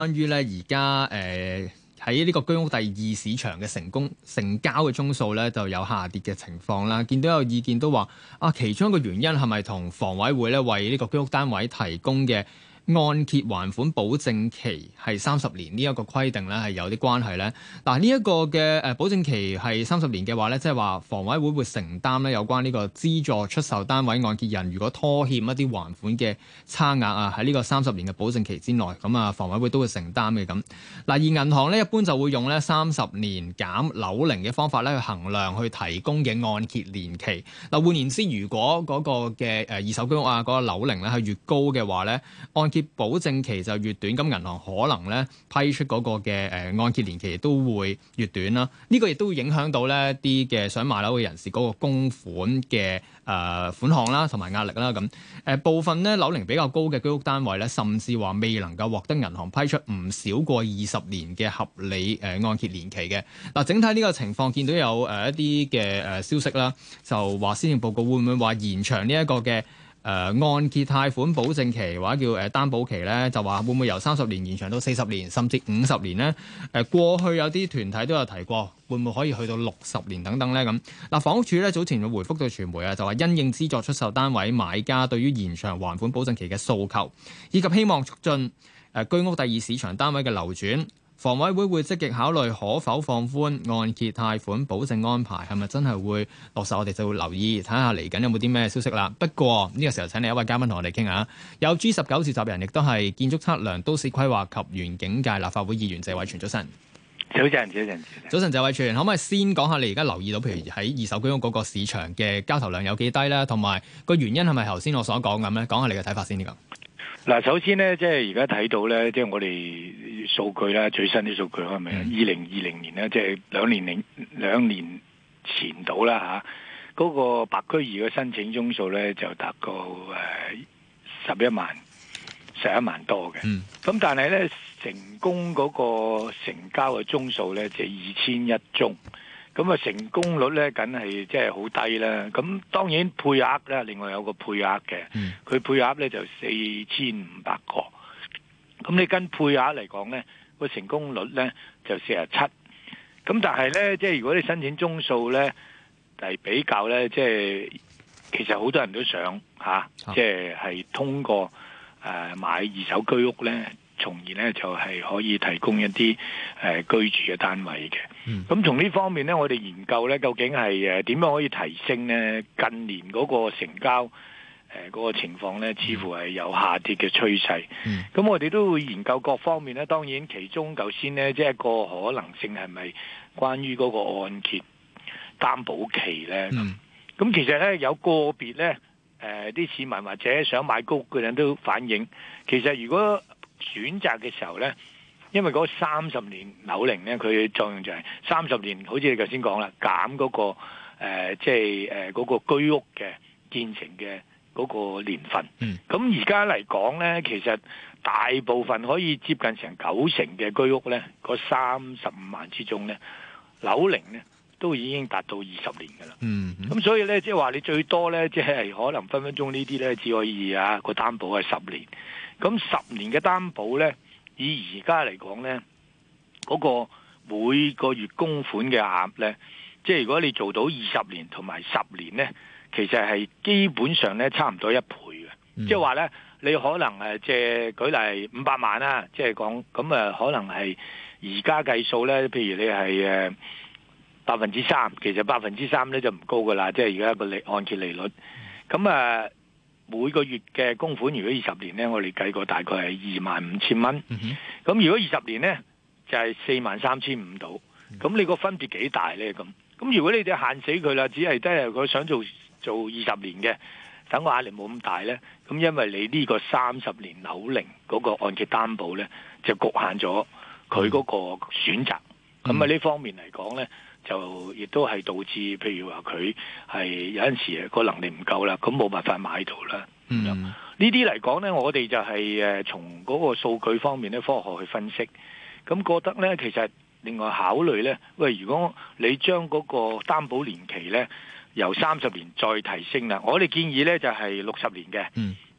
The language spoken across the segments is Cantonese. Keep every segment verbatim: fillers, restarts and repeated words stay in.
關於咧而家誒喺呢個居屋第二市場嘅成功成交嘅宗數咧，就有下跌嘅情況啦。見到有意見都話啊，其中一個原因係咪同房委會咧為呢個居屋單位提供嘅按揭還款保證期係三十年呢一個規定咧係有啲關係咧？嗱，呢一個嘅誒保證期係三十年嘅話咧，即係話房委會會承擔咧有關呢個資助出售單位按揭人如果拖欠一啲還款嘅差額啊，喺呢個三十年嘅保證期之內，咁啊房委會都會承擔嘅咁。嗱，而銀行咧一般就會用咧三十年減樓齡嘅方法咧去衡量去提供嘅按揭年期。嗱，換言之，如果嗰個嘅誒二手居屋啊嗰個樓齡咧係越高嘅話咧，按揭保證期就越短，咁銀行可能咧批出嗰個嘅誒按揭年期都會越短啦。呢個亦都會影響到咧啲嘅想買樓嘅人士嗰個供款嘅誒、呃、款項啦，同埋壓力啦咁。誒、呃、部分咧樓齡比較高嘅居屋單位咧，甚至話未能夠獲得銀行批出唔少過二十年嘅合理誒按揭年期嘅。嗱、呃，整體呢個情況見到有誒、呃、一啲嘅誒消息啦，就話施政報告會唔會話延長呢一個嘅？誒、呃、按揭貸款保證期或者叫誒擔保期咧，就話會唔會由三十年延長到四十年，甚至五十年咧？誒、呃、過去有啲團體都有提過，會唔會可以去到六十年等等咧？咁嗱，房屋署咧早前就回覆到傳媒啊，就話因應資助出售單位買家對於延長還款保證期嘅訴求，以及希望促進誒、呃、居屋第二市場單位嘅流轉。房委會會積極考慮可否放寬按揭貸款保證安排，係咪真係會落實？我哋就會留意睇下嚟緊有冇啲咩消息啦。不過呢個時候請嚟一位嘉賓同我哋傾下，有 G 十九召集人，亦都係建築測量、都市規劃及園境界立法會議員謝偉銓。早晨， 早晨，早晨， 早晨，謝偉銓，可唔可以先講下你而家留意到，譬如喺二手居屋嗰個市場嘅交投量有幾低咧？同埋個原因係咪頭先我所講咁咧？講下你嘅睇法先呢個。 嗱，首先咧，即係而家睇到咧，即係我哋數據啦，最新啲數據係咪？二零二零年咧，即係兩年零兩年前到啦嚇，嗰個白居二嘅申請宗數咧就達到誒十一萬、十一萬多嘅。咁、嗯、但係咧，成功嗰個成交嘅宗數咧就二千一宗。咁啊，成功率咧，梗係即係好低啦。咁當然配額咧，另外有個配額嘅，佢、嗯、配額咧就四千五百個。咁你跟配額嚟講咧，個成功率咧就四十七。咁但係咧，即係如果你申請宗數咧嚟比較咧，即係其實好多人都想嚇，即係係通過誒買二手居屋咧，從而咧就係可以提供一啲誒居住嘅單位嘅。咁從呢方面咧，我哋研究咧，究竟係誒點樣可以提升咧？近年嗰個成交誒嗰個情況咧，似乎係有下跌嘅趨勢。咁、嗯、我哋都會研究各方面咧。當然其中頭先咧，即係一個可能性係咪關於嗰個按揭擔保期咧？咁、嗯、其實咧有個別咧誒啲市民或者想買居屋嘅人都反映，其實如果選擇嘅時候咧，因為嗰三十年樓齡咧，佢嘅作用就係三十年，好似你頭先講啦，減嗰、嗰個誒，即係誒嗰個居屋嘅建成嘅嗰個年份。咁而家嚟講咧，其實大部分可以接近成九成嘅居屋咧，嗰三十五萬之中咧，樓齡咧都已經達到二十年㗎啦。咁、嗯、所以咧，即係話你最多咧，即係可能分分鐘呢啲咧，只可以啊個擔保係十年。咁十年嘅擔保咧，以而家嚟講咧，嗰、嗰個每個月供款嘅額咧，即係如果你做到二十年同埋十年咧，其實係基本上咧差唔多一倍嘅。嗯、即係話咧，你可能誒借舉例五百萬啦，即係講咁誒，可能係而家計數咧，譬如你係誒百分之三，其實百分之三咧就唔高噶啦，即係而家個利按揭利率。咁誒。每個月嘅供款，如果二十年呢，我哋計過大概係二萬五千蚊。咁、嗯、如果二十年呢，就係四萬三千五到。咁、嗯、你個分別幾大呢？咁咁如果你哋限死佢啦，只係得佢想做做二十年嘅，等個壓力冇咁大呢。咁因為你呢個三十年樓齡嗰個按揭擔保呢，就局限咗佢嗰個選擇。咁啊呢方面嚟講呢，就亦都係導致，譬如話佢係有陣時個能力唔夠啦，咁冇辦法買到啦。嗯，呢啲嚟講呢，我哋就係誒從嗰個數據方面咧，科學去分析，咁覺得呢，其實另外考慮呢，喂，如果你將嗰個擔保年期呢由三十年再提升啦，我哋建議呢就係六十年嘅。嗯，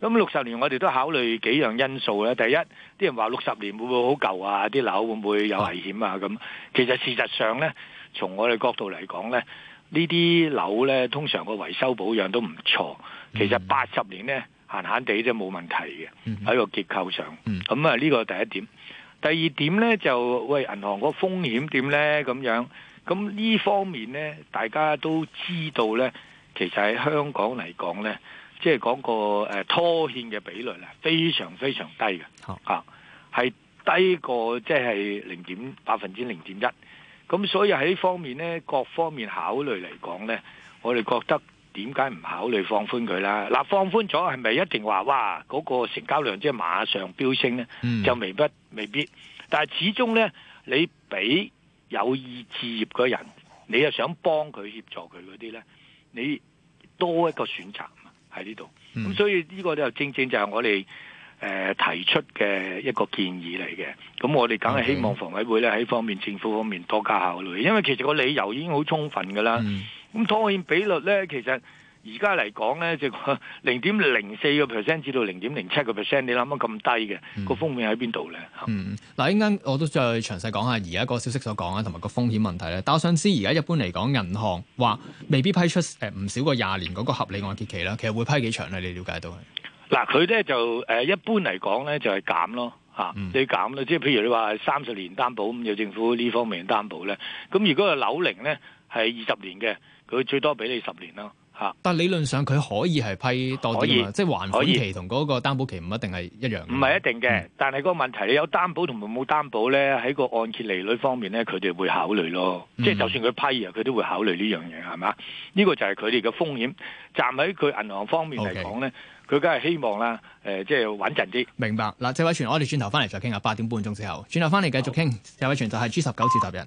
咁六十年我哋都考慮幾樣因素咧。第一，啲人話六十年會唔會好舊啊？啲樓會唔會有危險啊？咁其實事實上咧，從我哋角度嚟講咧，呢啲樓咧通常個維修保養都唔錯。其實八十年咧閒閒地都冇問題嘅，喺個結構上。咁啊呢個第一點。第二點咧就喂，銀行個風險點咧咁樣。咁呢方面咧大家都知道咧，其實喺香港嚟講咧，即係講個誒拖欠嘅比率咧，非常非常低嘅，嚇係、啊、低過即係零點百分之零點一。咁所以喺呢方面咧，各方面考慮嚟講咧，我哋覺得點解唔考慮放寬佢啦？嗱，放寬咗係咪一定話哇嗰、嗰個成交量即係馬上飆升咧？嗯、就未必未必。但係始終咧，你俾有意置業嘅人，你又想幫佢協助佢嗰啲咧，你多一個選擇喺呢度。咁、嗯、所以呢個就正正就係我哋誒、呃、提出嘅一個建議嚟嘅。咁我哋梗係希望房委會咧喺方面政府方面多加考慮，因為其實個理由已經好充分㗎啦。咁、嗯、拖欠比率咧，其實而家嚟講咧，就零點零四個 percent 至到零點零七個 percent， 你諗下咁低嘅個、嗯、風險喺邊度咧？ 嗯，嗱，一陣間我都再詳細講下而家個消息所講啊，同埋個風險問題咧。但我想知而家一般嚟講，銀行話未必批出誒唔少過廿年嗰個合理按揭期啦，其實會批幾長咧？你了解到係？嗱，佢咧就誒一般嚟講咧就係減咯嚇，嗯、你減咯，即係譬如你話三十年擔保咁，有政府呢方面擔保咧。咁如果個樓齡咧係二十年嘅，佢最多俾你十年咯。但理論上佢可以係批多啲嘛，即係還款期同嗰個擔保期唔一定係一樣。唔係一定嘅，嗯、但係個問題你有擔保同埋冇擔保咧，喺個按揭利率方面咧，佢哋會考慮咯。嗯、即係就算佢批啊，佢都會考慮呢樣嘢，係嘛？呢、呢個就係佢哋嘅風險。站喺佢銀行方面嚟講咧，佢梗係希望啦，誒、呃，即係穩陣啲。明白嗱，謝偉銓，我哋轉頭翻嚟再傾下，八點半鐘之後，轉頭翻嚟繼續傾。謝偉銓就係 G 十九召集人。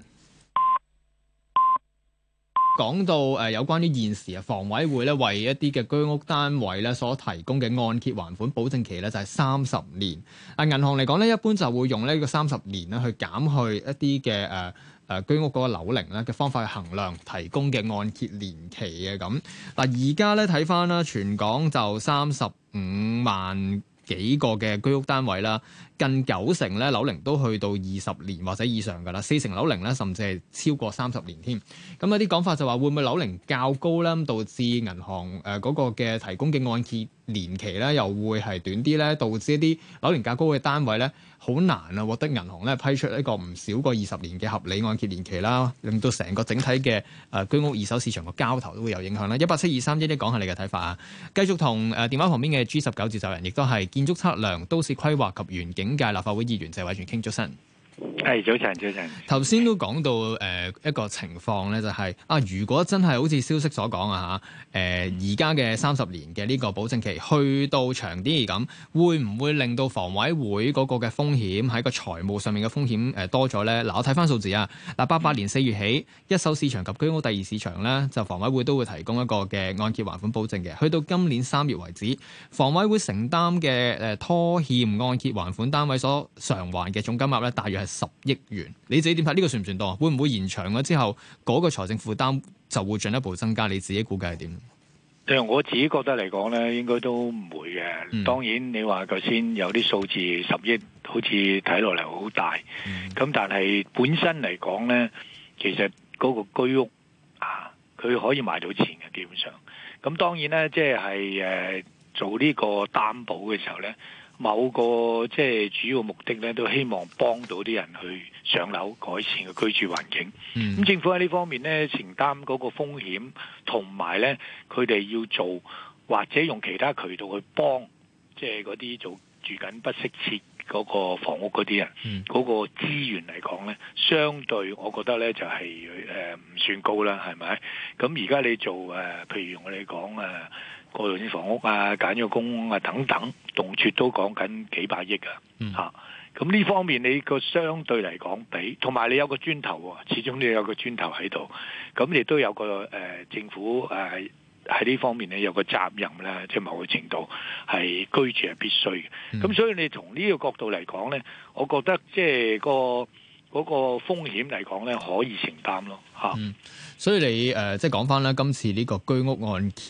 講到誒、呃、有關於現時啊，房委會咧為一啲嘅居屋單位咧所提供嘅按揭還款保證期咧就係三十年。啊，銀行嚟講咧，一般就會用呢個三十年咧去減去一啲嘅誒誒居屋嗰個樓齡咧嘅方法去衡量提供嘅按揭年期嘅咁。嗱，而家咧睇翻啦，全港就三十五萬幾個嘅居屋單位啦。近九成咧樓齡都去到二十年或者以上㗎啦，四成樓齡咧甚至係超過三十年添。咁有啲講法就話會唔會樓齡較高咧，導致銀行誒嗰、呃那個嘅提供嘅按揭年期咧又會係短啲咧，導致一啲樓齡較高嘅單位咧好難啊獲得銀行咧批出一個唔少過二十年嘅合理按揭年期啦，令到成個整體嘅誒、呃、居屋二手市場個交投都會有影響啦。一八七二三一一講下你嘅睇法啊！繼續同誒、呃、電話旁邊嘅 G 十九召集人，亦都係建築測量、都市規劃及園境界立法會議員謝偉銓傾咗身。 係早晨，早晨。 頭先都講到誒、呃、一個情況咧，就係、是、啊，如果真係好似消息所講啊嚇，誒而家嘅三十年嘅呢個保證期去到長啲咁，會唔會令到房委會嗰個嘅風險喺個財務上面嘅風險誒多咗咧？嗱、呃，我睇翻數字啊，嗱，八八年四月起，一手市場及居屋第二市場咧，就房委會都會提供一個嘅按揭還款保證嘅。去到今年三月為止，房委會承擔嘅誒拖欠按揭還款單位所償還嘅總金額咧，大約係十億元。你自己點睇？呢個算唔算多？會唔會延長咗之後嗰、那個財政負擔就會進一步增加？你自己估計係點？ 誒，我自己覺得嚟講咧，應該都唔會嘅。嗯、當然你話頭先有啲數字十億，好似睇落嚟好大。咁、嗯、但係本身嚟講咧，其實嗰個居屋啊，佢可以賣到錢嘅，基本上。咁當然咧，即係誒做呢個擔保嘅時候咧。某個即係主要目的咧，都希望幫到啲人去上樓，改善個居住環境。咁、嗯、政府喺呢方面咧，承擔嗰個風險，同埋咧佢哋要做或者用其他渠道去幫，即係嗰啲做住緊不適切嗰個房屋嗰啲人，嗰、嗯、個資源嚟講咧，相對我覺得咧就係誒唔算高啦，係咪？咁而家你做誒、呃，譬如我哋講誒。呃過渡性房屋啊、簡約公屋啊等等，動輒都講緊幾百億啊！嚇、嗯，咁呢、啊、方面你個相對嚟講比，同埋你有個磚頭喎，始終你有個磚頭喺度，咁亦都有個誒、呃、政府誒喺呢方面咧有個責任咧，即係某個程度係居住係必須嘅。咁、嗯、所以你從呢個角度嚟講咧，我覺得即係個嗰個風險嚟講咧可以承擔咯嚇。嗯， 所以你誒、呃、即係講翻啦，今次呢個居屋按揭。誒、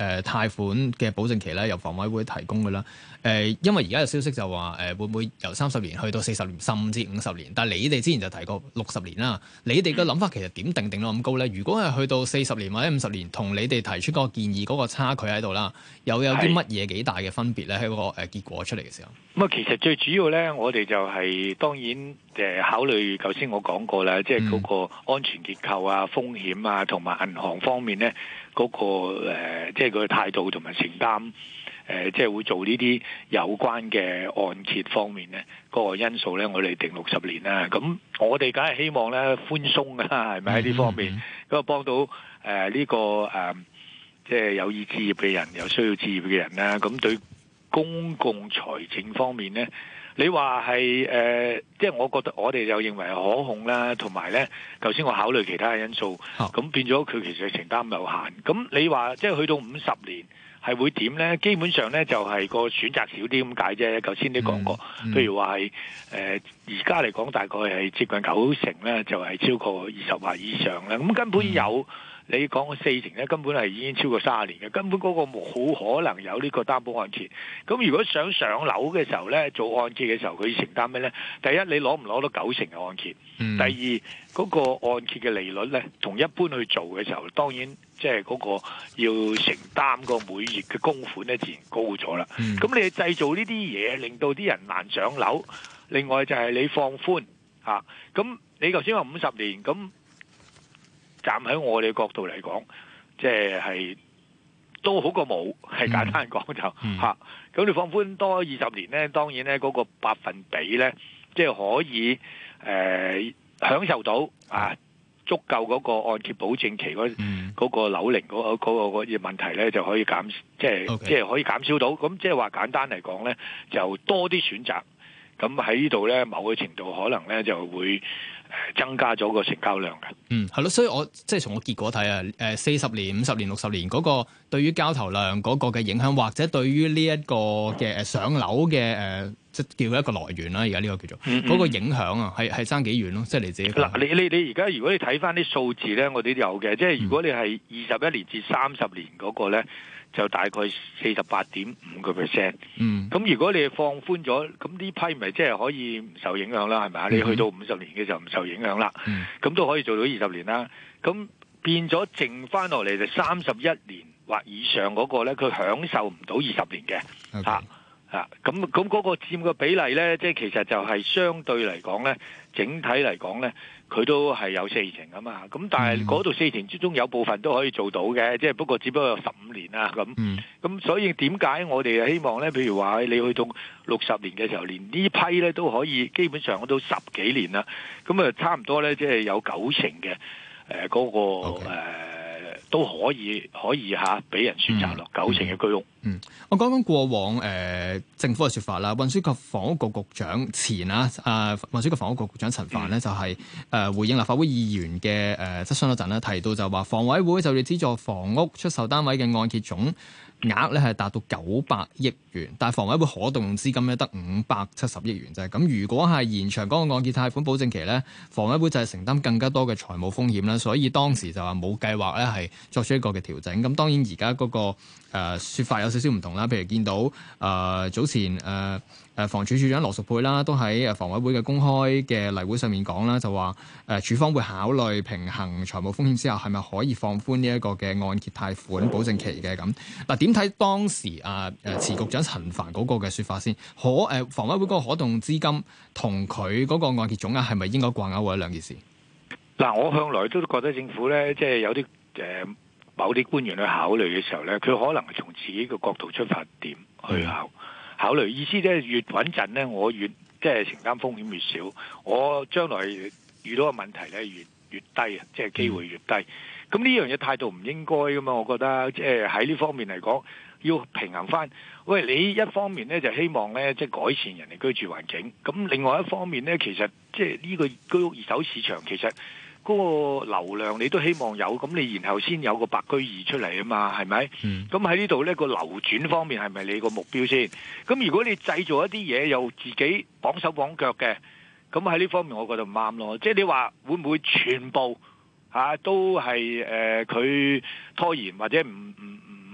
誒貸款嘅保證期咧，由房委會提供嘅啦。誒、呃，因為而家有消息就話誒、呃、會唔會由三十年去到四十年，甚至五十年？但係你哋之前就提過六十年啦。你哋嘅諗法其實點定定到咁高咧？如果係去到四十年或者五十年，同你哋提出嗰個建議嗰個差距喺度啦，又有啲乜嘢幾大嘅分別咧？喺嗰個誒結果出嚟嘅時候， 咁啊，其實最主要咧，我哋就係、是、當然誒、呃、考慮，頭先我講過啦，即係嗰個安全結構啊、風險啊，同埋銀行方面咧嗰、那個、呃、即係佢嘅態度同埋承擔。誒、呃，即係會做呢啲有關嘅按揭方面咧，嗰、那個因素咧，我哋定六十年啦。咁我哋梗係希望咧寬鬆㗎啦，係咪喺呢方面咁啊幫到誒呢、呃這個誒、呃，即係有意置業嘅人，有需要置業嘅人啦。咁對公共財政方面咧，你話係誒，即係我覺得我哋就認為係可控啦，同埋咧，頭先我考慮其他嘅因素，咁、oh. 變咗佢其實承擔有限。咁你話即係去到五十年。係會點呢？基本上呢，就係、是、個選擇少啲咁解啫。頭先你講過，嗯嗯、譬如話係誒而家嚟講，大概係接近九成呢，就係、是、超過二十或以上啦。咁根本有、嗯、你講四成呢，根本係已經超過三十年嘅，根本嗰個冇可能有呢個擔保按揭。咁如果想上樓嘅時候呢，做按揭嘅時候，佢要承擔咩呢？第一，你攞唔攞到九成嘅按揭？嗯、第二，嗰、那個按揭嘅利率呢，同一般去做嘅時候，當然。即係嗰個要承擔個每月嘅供款咧，自然高咗啦。咁、嗯、你製造呢啲嘢，令到啲人難上樓。另外就係你放寬嚇，咁、啊、你頭先話五十年，咁站喺我哋角度嚟講，即係係都好過冇，係簡單講就嚇。咁、嗯啊、你放寬多二十年咧，當然咧嗰、嗰個百分比咧，即係可以誒、呃、享受到啊。足夠嗰個按揭保證期嗰嗰個樓齡嗰嗰個嗰個問題咧，就可以減，即係 Okay. 即係可以減少到。咁即係話簡單嚟講咧，就多啲選擇。咁喺呢度咧，某個程度可能咧就會增加咗個成交量嘅。 嗯，係咯，所以我即係從個結果睇啊，誒四十年、五十年、六十年嗰個對於交投量嗰個嘅影響，或者對於呢一個嘅誒上樓嘅誒，即係叫一個來源啦。而家呢個叫做嗰、嗯嗯、個影響啊，係係爭幾遠咯？即係你自己嗱，你你你而家如果你睇翻啲數字咧，我哋都有嘅。即係如果你係二十一年至三十年嗰個咧，就大概四十八點五個 percent。嗯，咁如果你放寬咗，咁呢批咪即係可以唔受影響啦，係咪啊？嗯、你去到五十年嘅時候唔受影響啦，咁、嗯、都可以做到二十年啦。咁變咗剩翻落嚟就三十一年或以上嗰個咧，佢享受唔到二十年嘅嚇。Okay. 啊，咁咁嗰個佔嘅比例咧，即係其實就係相對嚟講咧，整體嚟講咧，佢都係有四成啊嘛。咁但係嗰度四成之中有部分都可以做到嘅，即係不過只不過有十五年啦咁。咁、嗯、所以點解我哋希望咧？譬如話你去到六十年嘅時候，連呢批咧都可以基本上都十幾年啦。咁啊，差唔多咧，即係有九成嘅誒嗰個 Okay.、呃都可以可以嚇俾人選擇咯，嗯、九成嘅居屋。 嗯，我講講過往誒、呃、政府嘅説法啦，運輸及房屋局局長前啊，誒、呃、運輸及房屋局局長陳帆呢，嗯、就係、是、誒、呃、回應立法會議員嘅誒、呃、質詢嗰陣咧，提到就話房委會就要資助房屋出售單位嘅按揭總額咧係達到九百億元，但係房委會可動用資金咧得五百七十億元啫。咁如果係延長嗰個按揭貸款保證期咧，房委會就係承擔更加多嘅財務風險啦。所以當時就話冇計劃咧係作出一個嘅調整。咁當然而家嗰個誒、呃、說法有少少唔同啦。譬如見到誒、呃、早前誒誒、呃、房署署長羅淑佩啦，都喺誒房委會嘅公開嘅例會上面講啦，就話誒署方會考慮平衡財務風險之後，係咪可以放寬呢一個嘅按揭貸款保證期嘅咁嗱？點睇當時啊誒前局長陳帆嗰個嘅説法先？可誒、呃、房委會嗰個可動資金同佢嗰個按揭總額係咪應該掛鈎或者兩件事？ 嗱，我向來都覺得政府咧，即係有啲誒、呃、某啲官員去考慮嘅時候咧，佢可能係從自己嘅角度出發點去考、嗯、考慮，意思即係越穩陣咧，我越即係承擔風險越少，我將來遇到嘅問題咧越越低啊，即係機會越低。咁呢、嗯、樣嘢態度唔應該噶嘛？我覺得即係喺呢方面嚟講，要平衡翻。喂，你一方面咧就希望咧即係改善人哋居住環境，咁另外一方面咧，其實即係呢個居屋二手市場其實嗰個流量你都希望有，咁你然後先有個白居二出嚟啊嘛，係咪？咁喺、嗯、呢度咧個流轉方面係咪你個目標先？咁如果你製造一啲嘢又自己綁手綁腳嘅，咁喺呢方面我覺得唔啱咯。即係你話會唔會全部嚇、啊、都係誒佢拖延或者唔唔唔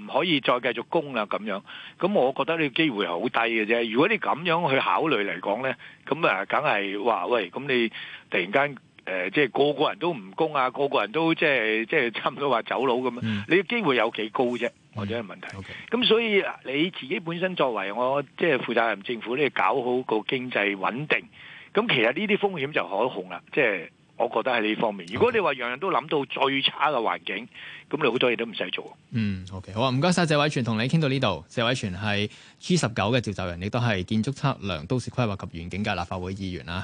可以再繼續供啦咁樣。咁我覺得呢個機會係好低嘅啫。如果你咁樣去考慮嚟講咧，咁啊梗係話喂，咁你突然間誒、呃、即係個個人都唔供啊，個個人都即係即係差唔多話走佬咁樣，嗯、你嘅機會有幾高啫？或者係問題。咁、嗯 okay. 所以你自己本身作為我即係負責任政府咧，搞好個經濟穩定，咁其實呢啲風險就可控啦。即係我覺得喺呢方面。如果你話樣樣都諗到最差嘅環境，咁你好多嘢都唔使做。 嗯，OK， 好啊，唔該晒謝偉銓，同你傾到呢度。謝偉銓係 G 十九嘅召集人，亦都係建築測量、都市規劃及園境界立法會議員啦。